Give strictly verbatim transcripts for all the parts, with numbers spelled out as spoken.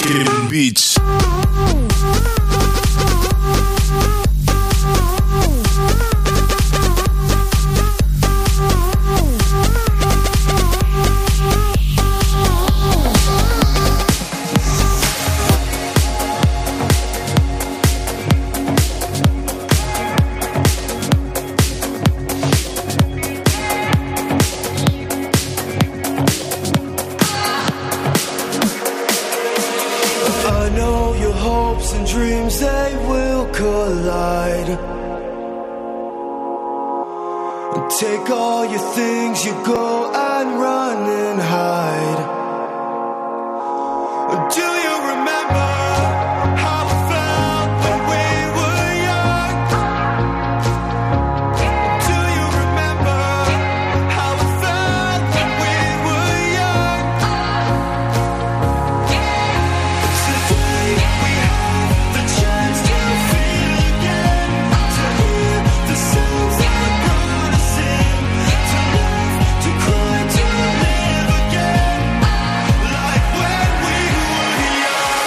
Skip Beats. Take all your things, you go and run and hide. Do you remember how it felt when we were young? Do you remember how it felt when we were young? Today we have the chance to feel again, to hear the sounds that brought us in, to laugh, to cry, to live again, like when we were young.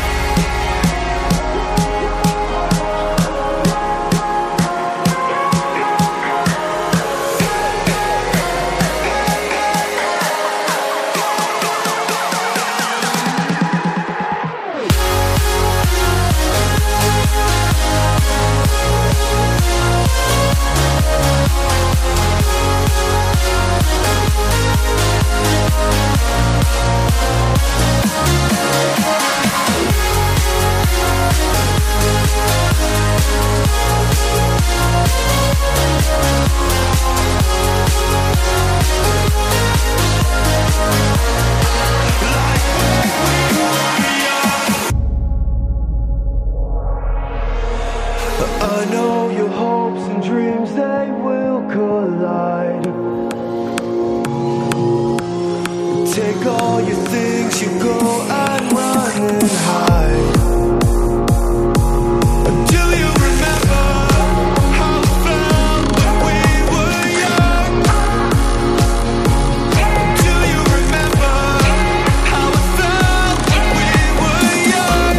I know your hopes and dreams, they will collide. Take all your things, you go and run and hide. Do you remember how it felt when we were young? Do you remember how it felt when we were young?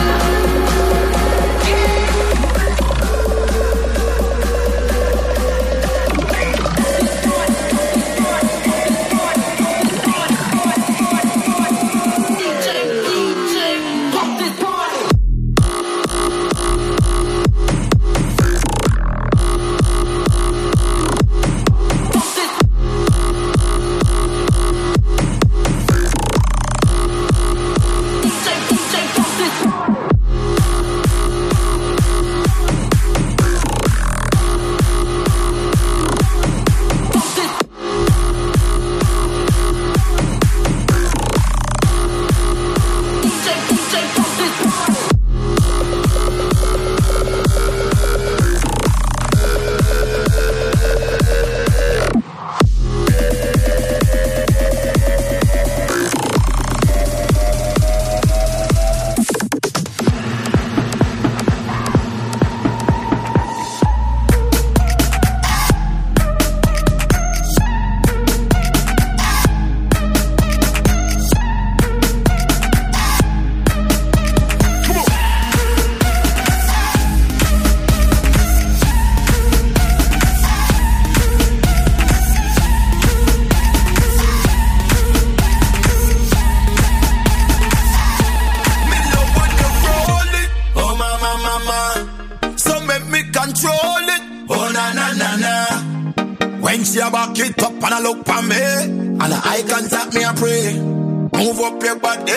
When she a back it up and a look for me, and a eye contact me a pray, move up your body.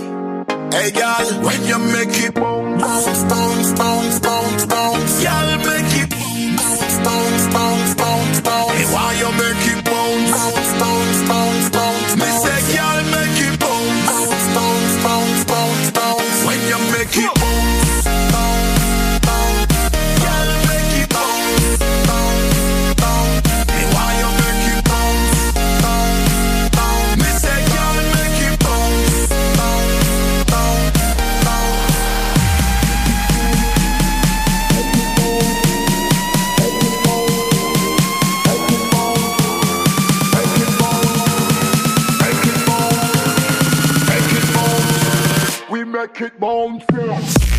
Hey girl, when you make it bounce, bounce, bounce, bounce, bounce, girl make it bounce, bounce, bounce, bounce, bounce. Hey, why you make it bounce, bounce, bounce, bounce, bounce? Me say girl make it bounce, bounce, bounce, bounce, bounce, bounce. When you make it bounce, bounce, bounce, girl make it bounce, bounce, bounce. Hey, why you make it bounce, bounce, bounce? Me say girl make it bounce, bounce, bounce, bounce. we make it bounce.